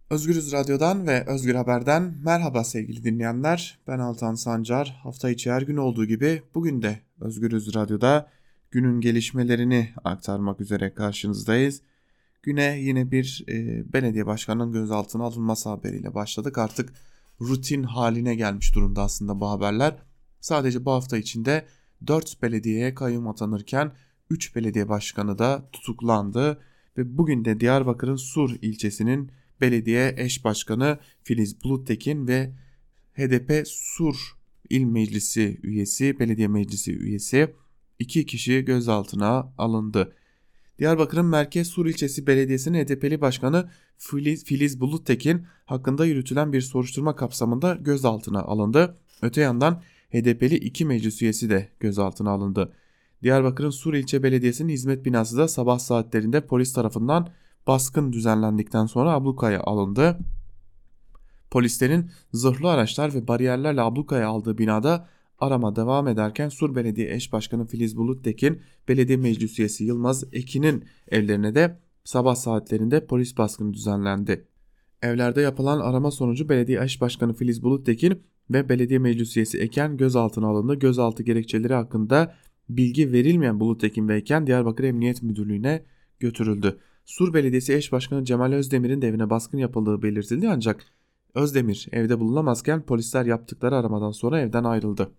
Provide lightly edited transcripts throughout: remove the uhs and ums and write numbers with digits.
Özgürüz Radyo'dan ve Özgür Haber'den merhaba sevgili dinleyenler. Ben Altan Sancar. Hafta içi her gün olduğu gibi bugün de Özgürüz Radyo'da günün gelişmelerini aktarmak üzere karşınızdayız. Güne yine bir belediye başkanının gözaltına alınması haberiyle başladık. Artık rutin haline gelmiş durumda aslında bu haberler. Sadece bu hafta içinde 4 belediyeye kayyum atanırken 3 belediye başkanı da tutuklandı. Ve bugün de Diyarbakır'ın Sur ilçesinin belediye eş başkanı Filiz Buluttekin ve HDP Sur İl Meclisi üyesi, belediye meclisi üyesi 2 kişi gözaltına alındı. Diyarbakır'ın Merkez Sur ilçesi belediyesinin HDP'li başkanı Filiz Buluttekin hakkında yürütülen bir soruşturma kapsamında gözaltına alındı. Öte yandan HDP'li 2 meclis üyesi de gözaltına alındı. Diyarbakır'ın Sur ilçe belediyesinin hizmet binası da sabah saatlerinde polis tarafından baskın düzenlendikten sonra ablukaya alındı. Polislerin zırhlı araçlar ve bariyerlerle ablukaya aldığı binada arama devam ederken Sur Belediye Eş Başkanı Filiz Buluttekin, Belediye Meclis Üyesi Yılmaz Ekin'in evlerine de sabah saatlerinde polis baskını düzenlendi. Evlerde yapılan arama sonucu Belediye Eş Başkanı Filiz Buluttekin ve Belediye Meclis Üyesi Eken gözaltına alındı. Gözaltı gerekçeleri hakkında bilgi verilmeyen Buluttekin ve Eken Diyarbakır Emniyet Müdürlüğü'ne götürüldü. Sur Belediyesi Eş Başkanı Cemal Özdemir'in de evine baskın yapıldığı belirtildi ancak Özdemir evde bulunamazken polisler yaptıkları aramadan sonra evden ayrıldı.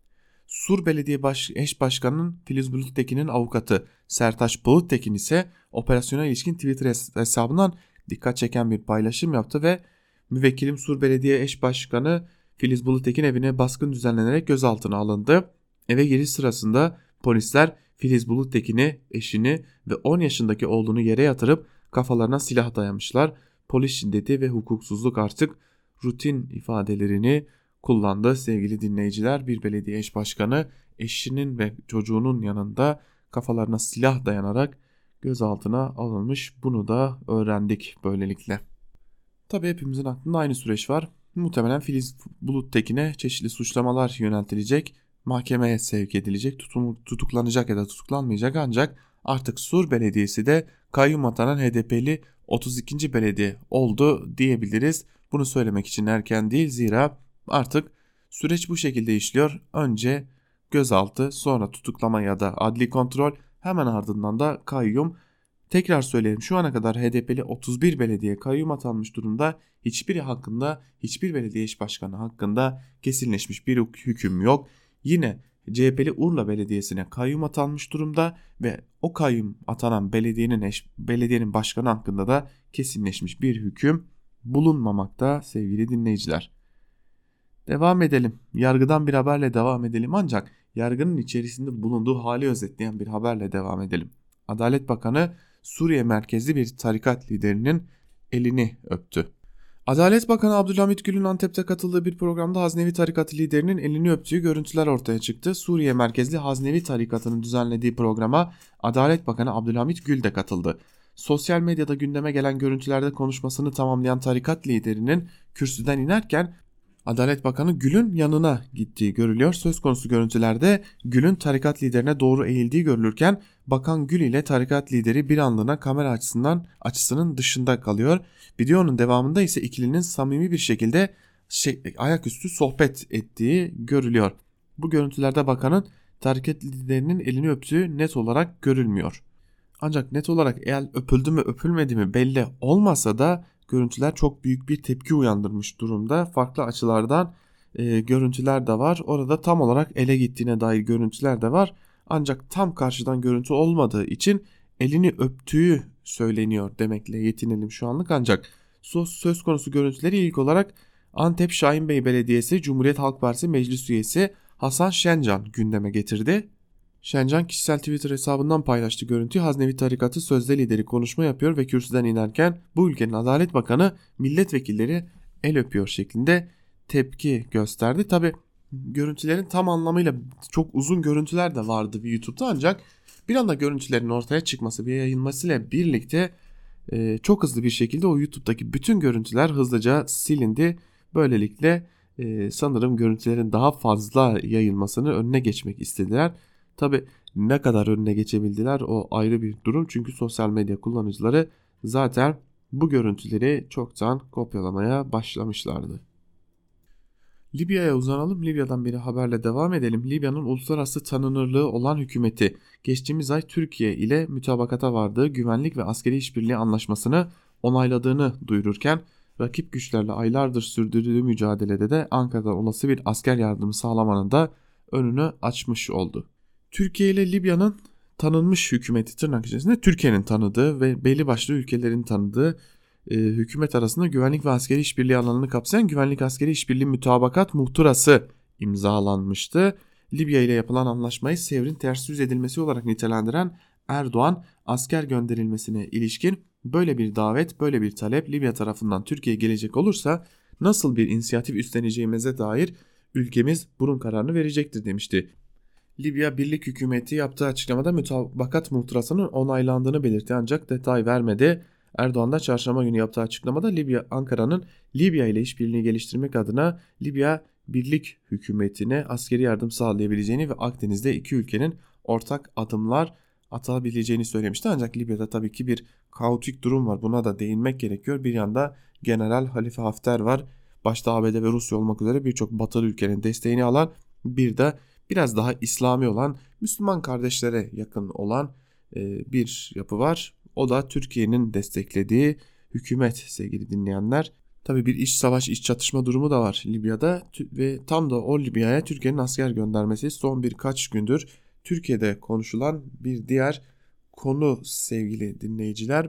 Sur Belediye Eş Başkanı'nın Filiz Buluttekin'in avukatı Sertaç Buluttekin ise operasyona ilişkin Twitter hesabından dikkat çeken bir paylaşım yaptı ve müvekkilim Sur Belediye Eş Başkanı Filiz Buluttekin evine baskın düzenlenerek gözaltına alındı. Eve giriş sırasında polisler Filiz Buluttekin'i, eşini ve 10 yaşındaki oğlunu yere yatırıp kafalarına silah dayamışlar. Polis şiddeti ve hukuksuzluk artık rutin ifadelerini kullandı sevgili dinleyiciler. Bir belediye eş başkanı eşinin ve çocuğunun yanında kafalarına silah dayanarak gözaltına alınmış. Bunu da öğrendik böylelikle. Tabii hepimizin aklında aynı süreç var. Muhtemelen Filiz Buluttekin'e çeşitli suçlamalar yöneltilecek, mahkemeye sevk edilecek, tutuklanacak ya da tutuklanmayacak ancak artık Sur Belediyesi de kayyum atanan HDP'li 32. belediye oldu diyebiliriz. Bunu söylemek için erken değil, zira artık süreç bu şekilde işliyor. Önce gözaltı, sonra tutuklama ya da adli kontrol, hemen ardından da kayyum. Tekrar söyleyelim, şu ana kadar HDP'li 31 belediye kayyum atanmış durumda. Hiçbiri hakkında, hiçbir belediye eş başkanı hakkında kesinleşmiş bir hüküm yok. Yine CHP'li Urla Belediyesi'ne kayyum atanmış durumda ve o kayyum atanan belediyenin başkanı hakkında da kesinleşmiş bir hüküm bulunmamakta sevgili dinleyiciler. Devam edelim. Yargıdan bir haberle devam edelim ancak yargının içerisinde bulunduğu hali özetleyen bir haberle devam edelim. Adalet Bakanı Suriye merkezli bir tarikat liderinin elini öptü. Adalet Bakanı Abdülhamit Gül'ün Antep'te katıldığı bir programda Haznevi Tarikatı liderinin elini öptüğü görüntüler ortaya çıktı. Suriye merkezli Haznevi Tarikatı'nın düzenlediği programa Adalet Bakanı Abdülhamit Gül de katıldı. Sosyal medyada gündeme gelen görüntülerde konuşmasını tamamlayan tarikat liderinin kürsüden inerken Adalet Bakanı Gül'ün yanına gittiği görülüyor. Söz konusu görüntülerde Gül'ün tarikat liderine doğru eğildiği görülürken Bakan Gül ile tarikat lideri bir anlığına kamera açısının dışında kalıyor. Videonun devamında ise ikilinin samimi bir şekilde ayaküstü sohbet ettiği görülüyor. Bu görüntülerde bakanın tarikat liderinin elini öptüğü net olarak görülmüyor. Ancak net olarak el öpüldü mü öpülmedi mi belli olmasa da görüntüler çok büyük bir tepki uyandırmış durumda. Farklı açılardan görüntüler de var. Orada tam olarak ele gittiğine dair görüntüler de var. Ancak tam karşıdan görüntü olmadığı için elini öptüğü söyleniyor demekle yetinelim şu anlık. Ancak söz konusu görüntüleri ilk olarak Antep Şahinbey Belediyesi Cumhuriyet Halk Partisi Meclis Üyesi Hasan Şencan gündeme getirdi. Şencan kişisel Twitter hesabından paylaştığı görüntüyü. Haznevi Tarikatı sözde lideri konuşma yapıyor ve kürsüden inerken bu ülkenin Adalet Bakanı milletvekilleri el öpüyor şeklinde tepki gösterdi. Tabi görüntülerin tam anlamıyla çok uzun görüntüler de vardı bir YouTube'da ancak bir anda görüntülerin ortaya çıkması ve yayılmasıyla birlikte çok hızlı bir şekilde o YouTube'daki bütün görüntüler hızlıca silindi. Böylelikle sanırım görüntülerin daha fazla yayılmasını önüne geçmek istediler. Tabi ne kadar önüne geçebildiler o ayrı bir durum çünkü sosyal medya kullanıcıları zaten bu görüntüleri çoktan kopyalamaya başlamışlardı. Libya'ya uzanalım. Libya'dan bir haberle devam edelim. Libya'nın uluslararası tanınırlığı olan hükümeti geçtiğimiz ay Türkiye ile mütabakata vardığı güvenlik ve askeri işbirliği anlaşmasını onayladığını duyururken rakip güçlerle aylardır sürdürdüğü mücadelede de Ankara'dan olası bir asker yardımı sağlamanın da önünü açmış oldu. Türkiye ile Libya'nın tanınmış hükümeti tırnak içerisinde Türkiye'nin tanıdığı ve belli başlı ülkelerin tanıdığı hükümet arasında güvenlik ve askeri işbirliği alanını kapsayan güvenlik askeri işbirliği mütabakat muhtırası imzalanmıştı. Libya ile yapılan anlaşmayı sevrin ters yüz edilmesi olarak nitelendiren Erdoğan, asker gönderilmesine ilişkin böyle bir davet, böyle bir talep Libya tarafından Türkiye'ye gelecek olursa nasıl bir inisiyatif üstleneceğimize dair ülkemiz bunun kararını verecektir demişti. Libya Birlik Hükümeti yaptığı açıklamada mütabakat muhtırasının onaylandığını belirtti ancak detay vermedi. Erdoğan da çarşamba günü yaptığı açıklamada Ankara'nın Libya ile işbirliğini geliştirmek adına Libya Birlik Hükümeti'ne askeri yardım sağlayabileceğini ve Akdeniz'de iki ülkenin ortak adımlar atabileceğini söylemişti. Ancak Libya'da tabii ki bir kaotik durum var. Buna da değinmek gerekiyor. Bir yanda General Halife Hafter var. Başta ABD ve Rusya olmak üzere birçok batılı ülkenin desteğini alan, bir de biraz daha İslami olan, Müslüman kardeşlere yakın olan bir yapı var. O da Türkiye'nin desteklediği hükümet sevgili dinleyenler. Tabii bir iç savaş, iç çatışma durumu da var Libya'da ve tam da o Libya'ya Türkiye'nin asker göndermesi son birkaç gündür Türkiye'de konuşulan bir diğer konu sevgili dinleyiciler.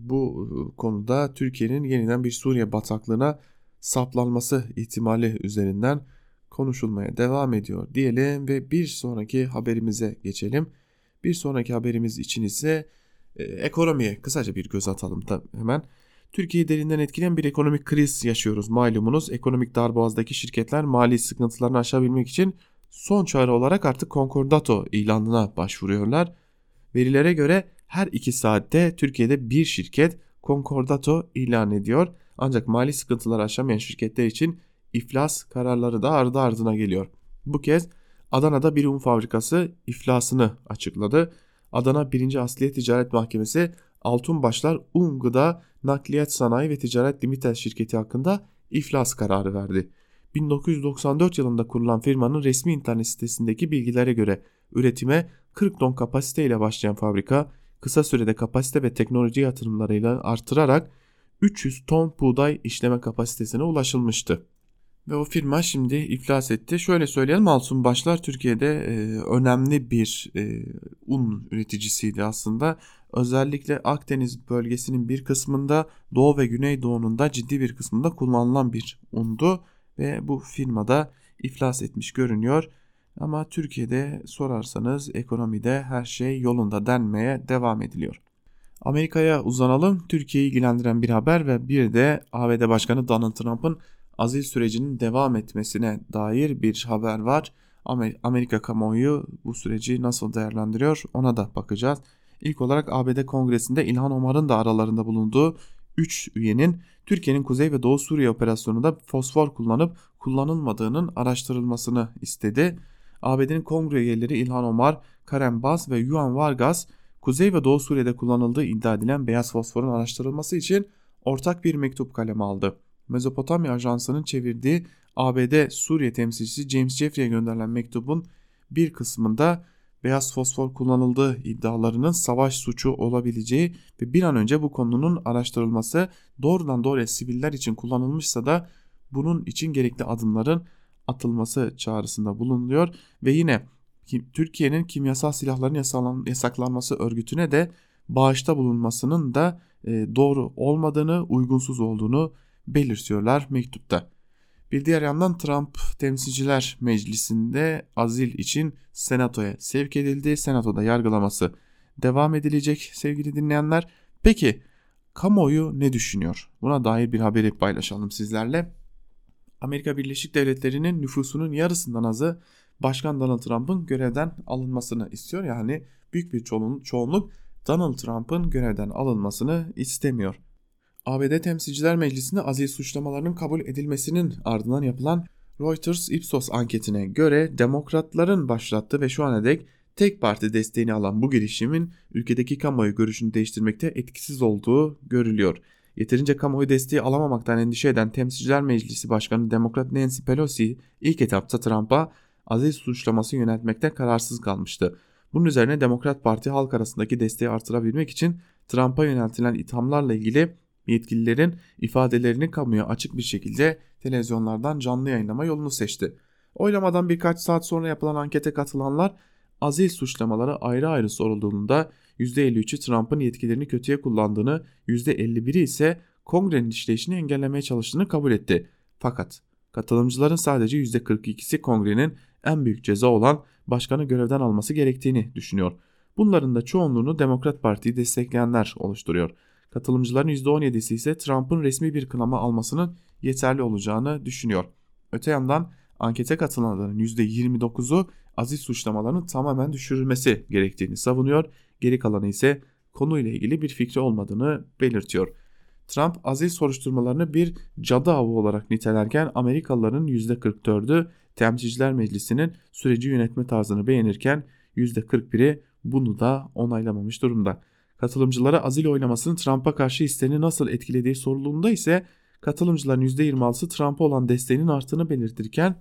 Bu konuda Türkiye'nin yeniden bir Suriye bataklığına saplanması ihtimali üzerinden konuşulmaya devam ediyor diyelim ve bir sonraki haberimize geçelim. Bir sonraki haberimiz için ise ekonomiye kısaca bir göz atalım da hemen. Türkiye'yi derinden etkileyen bir ekonomik kriz yaşıyoruz malumunuz. Ekonomik darboğazdaki şirketler mali sıkıntılarını aşabilmek için son çare olarak artık konkordato ilanına başvuruyorlar. Verilere göre her 2 saatte Türkiye'de bir şirket konkordato ilan ediyor. Ancak mali sıkıntıları aşamayan şirketler için iflas kararları da ardı ardına geliyor. Bu kez Adana'da bir un fabrikası iflasını açıkladı. Adana 1. Asliye Ticaret Mahkemesi Altunbaşlar Un Gıda Nakliyat Sanayi ve Ticaret Limited şirketi hakkında iflas kararı verdi. 1994 yılında kurulan firmanın resmi internet sitesindeki bilgilere göre üretime 40 ton kapasiteyle başlayan fabrika kısa sürede kapasite ve teknoloji yatırımlarıyla artırarak 300 ton buğday işleme kapasitesine ulaşılmıştı. Ve o firma şimdi iflas etti. Şöyle söyleyelim, Altunbaşlar Türkiye'de önemli bir un üreticisiydi aslında. Özellikle Akdeniz bölgesinin bir kısmında, Doğu ve Güneydoğu'nun da ciddi bir kısmında kullanılan bir undu. Ve bu firmada iflas etmiş görünüyor. Ama Türkiye'de sorarsanız ekonomide her şey yolunda denmeye devam ediliyor. Amerika'ya uzanalım. Türkiye'yi ilgilendiren bir haber ve bir de ABD Başkanı Donald Trump'ın azil sürecinin devam etmesine dair bir haber var. Amerika kamuoyu bu süreci nasıl değerlendiriyor ona da bakacağız. İlk olarak ABD Kongresi'nde İlhan Omar'ın da aralarında bulunduğu 3 üyenin Türkiye'nin Kuzey ve Doğu Suriye operasyonunda fosfor kullanıp kullanılmadığının araştırılmasını istedi. ABD'nin kongre üyeleri İlhan Omar, Karen Bass ve Juan Vargas, Kuzey ve Doğu Suriye'de kullanıldığı iddia edilen beyaz fosforun araştırılması için ortak bir mektup kaleme aldı. Mezopotamya Ajansı'nın çevirdiği ABD Suriye temsilcisi James Jeffrey'e gönderilen mektubun bir kısmında beyaz fosfor kullanıldığı iddialarının savaş suçu olabileceği ve bir an önce bu konunun araştırılması, doğrudan doğruya siviller için kullanılmışsa da bunun için gerekli adımların atılması çağrısında bulunuyor ve yine Türkiye'nin kimyasal silahların yasaklanması örgütüne de bağışta bulunmasının da doğru olmadığını, uygunsuz olduğunu belirtiyorlar mektupta. Bir diğer yandan Trump Temsilciler Meclisi'nde azil için Senato'ya sevk edildi. Senato'da yargılaması devam edilecek sevgili dinleyenler. Peki kamuoyu ne düşünüyor? Buna dair bir haberi paylaşalım sizlerle. Amerika Birleşik Devletleri'nin nüfusunun yarısından azı Başkan Donald Trump'ın görevden alınmasını istiyor. Yani büyük bir çoğunluk Donald Trump'ın görevden alınmasını istemiyor. ABD Temsilciler Meclisi'nde azil suçlamalarının kabul edilmesinin ardından yapılan Reuters Ipsos anketine göre demokratların başlattığı ve şu ana dek tek parti desteğini alan bu girişimin ülkedeki kamuoyu görüşünü değiştirmekte etkisiz olduğu görülüyor. Yeterince kamuoyu desteği alamamaktan endişe eden Temsilciler Meclisi Başkanı Demokrat Nancy Pelosi ilk etapta Trump'a aziz suçlaması yöneltmekte kararsız kalmıştı. Bunun üzerine Demokrat Parti halk arasındaki desteği artırabilmek için Trump'a yöneltilen ithamlarla ilgili yetkililerin ifadelerini kamuya açık bir şekilde televizyonlardan canlı yayınlama yolunu seçti. Oylamadan birkaç saat sonra yapılan ankete katılanlar aziz suçlamaları ayrı ayrı sorulduğunda %53'ü Trump'ın yetkilerini kötüye kullandığını, %51'i ise Kongre'nin işleyişini engellemeye çalıştığını kabul etti. Fakat katılımcıların sadece %42'si Kongre'nin en büyük ceza olan başkanı görevden alması gerektiğini düşünüyor. Bunların da çoğunluğunu Demokrat Parti'yi destekleyenler oluşturuyor. Katılımcıların %17'si ise Trump'ın resmi bir kınama almasının yeterli olacağını düşünüyor. Öte yandan ankete katılanların %29'u aziz suçlamaların tamamen düşürülmesi gerektiğini savunuyor. Geri kalanı ise konuyla ilgili bir fikri olmadığını belirtiyor. Trump aziz soruşturmalarını bir cadı avı olarak nitelerken Amerikalıların %44'ü Temsilciler Meclisi'nin süreci yönetme tarzını beğenirken %41'i bunu da onaylamamış durumda. Katılımcılara azil oylamasının Trump'a karşı hislerini nasıl etkilediği sorulduğunda ise katılımcıların %26'sı Trump'a olan desteğinin arttığını belirtirken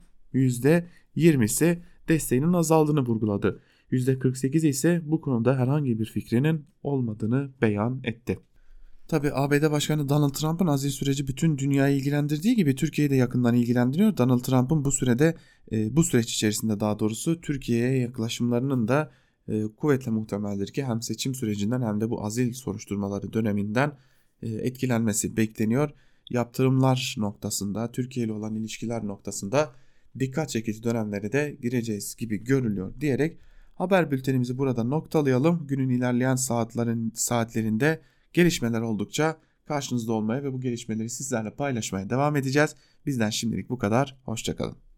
%20'si desteğinin azaldığını vurguladı. %48'i ise bu konuda herhangi bir fikrinin olmadığını beyan etti. Tabi ABD Başkanı Donald Trump'ın azil süreci bütün dünyayı ilgilendirdiği gibi Türkiye'yi de yakından ilgilendiriyor. Donald Trump'ın bu süreç içerisinde daha doğrusu Türkiye'ye yaklaşımlarının da kuvvetle muhtemeldir ki hem seçim sürecinden hem de bu azil soruşturmaları döneminden etkilenmesi bekleniyor. Yaptırımlar noktasında, Türkiye ile olan ilişkiler noktasında dikkat çekici dönemlere de gireceğiz gibi görülüyor diyerek haber bültenimizi burada noktalayalım. Günün ilerleyen saatlerinde gelişmeler oldukça karşınızda olmaya ve bu gelişmeleri sizlerle paylaşmaya devam edeceğiz. Bizden şimdilik bu kadar. Hoşça kalın.